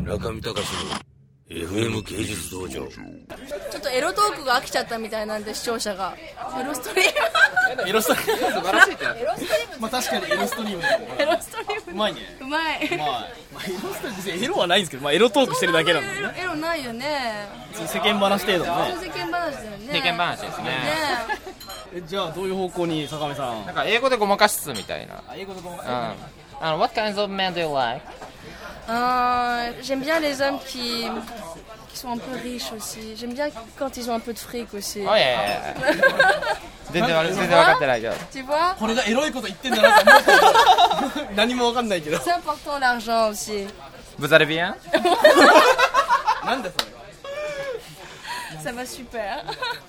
村上隆の FM 芸術道場。 ちょっとエロトークが飽きちゃったみたいなんで、視聴者がエロストリームエロストリーム素晴らしいってエロストリームまあ確かにエロストリームエロストリームうまいね。 うまい、 まあエロストリーム別にエロはないんですけど、まあエロトークしてるだけなんですね。 エロないよね。 世間話程度のね。 世間話だよね。 世間話ですね。 じゃあどういう方向に坂上さん。 なんか英語でごまかしつつみたいな。 英語でごまかし。What kinds of men do you like? J'aime bien les hommes qui sont un peu riches aussi. J'aime bien quand ils ont un peu de fric aussi. Oh yeah. 全然分かってないけど。 Tu vois? これがエロいこと言ってんだなと思うけど何も分かんないけど。 C'est important l'argent aussi. Vous allez bien? なんだそれ。 Ça va super.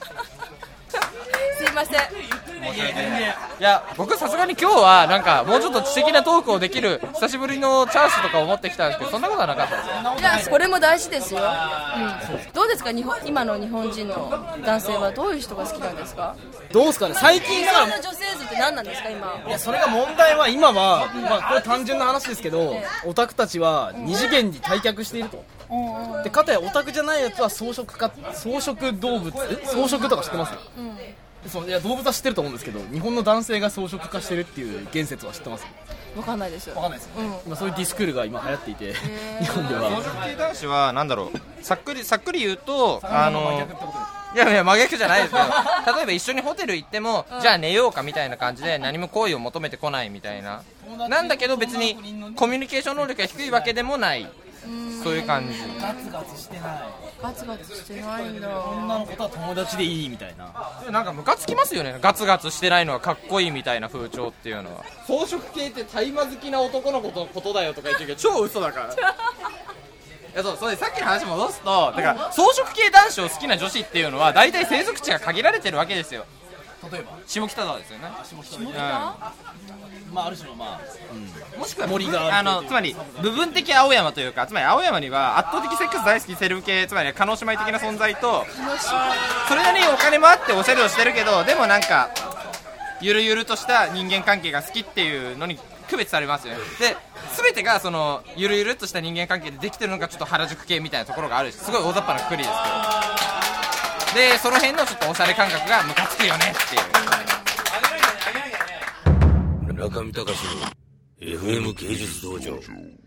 すいません。 いや僕さすがに今日はなんかもうちょっと知的なトークをできる久しぶりのチャンスとか思ってきたんですけど、そんなことはなかったですよ。 いや、これも大事ですよ、どうですか、今の日本人の男性はどういう人が好きなんですか？ どうですかね、最近さ、 理想の女性図って何なんですか今？ いやそれが問題は今は、まあこれ単純な話ですけど、オタクたちは二次元に退却していると。でかたやオタクじゃないやつは草食動物、草食とか知ってます？そういや動物は知ってると思うんですけど、日本の男性が草食化してるっていう言説は知ってます？ わかんないです。 わかんないです、今そういうディスクールが今流行っていて、日本では草食系男子はなんだろう、さっくり言うといや真逆じゃないですけど、例えば一緒にホテル行っても、じゃあ寝ようかみたいな感じで何も好意を求めてこないみたいな、なんだけど別にコミュニケーション能力が低いわけでもない、そういう感じ。 ガツガツしてない、 ガツガツしてないんだ。 女の子とは友達でいいみたいな。 なんかムカつきますよね、ガツガツしてないのはかっこいいみたいな風潮っていうのは。草食系って大麻好きな男の子のことだよとか言ってるけど超嘘だからいやそれさっきの話戻すと、だから草食系男子を好きな女子っていうのは大体生息地が限られてるわけですよ。 例えば下北沢ですよね。 まあある種のもしくは森があるつまり部分的青山というか、つまり青山には圧倒的セックス大好きセルフ系、つまり叶姉妹的な存在と、それなりにお金もあっておしゃれをしてるけど、でもなんかゆるゆるとした人間関係が好きっていうのに区別されますよね。で全てがそのゆるゆるっとした人間関係でできてるのがちょっと原宿系みたいなところがあるし、すごい大雑把なくくりですけど、でその辺のちょっとおしゃれ感覚がムカつくよねっていう。 村上隆の FM 芸術道場。